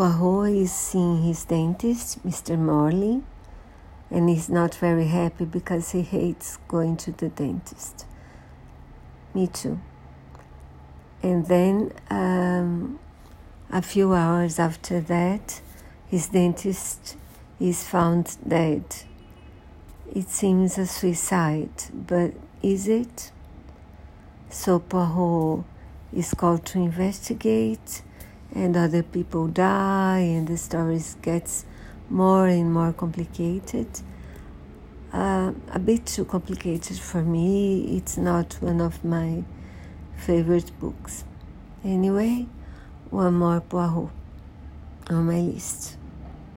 Poirot is seeing his dentist, Mr. Morley, and he's not very happy because he hates going to the dentist. Me too. And then a few hours after that, his dentist is found dead. It seems a suicide, but is it? So Poirot is called to investigate, and other people die, and the story gets more and more complicated. A bit too complicated for me. It's not one of my favorite books. Anyway, one more Poirot on my list.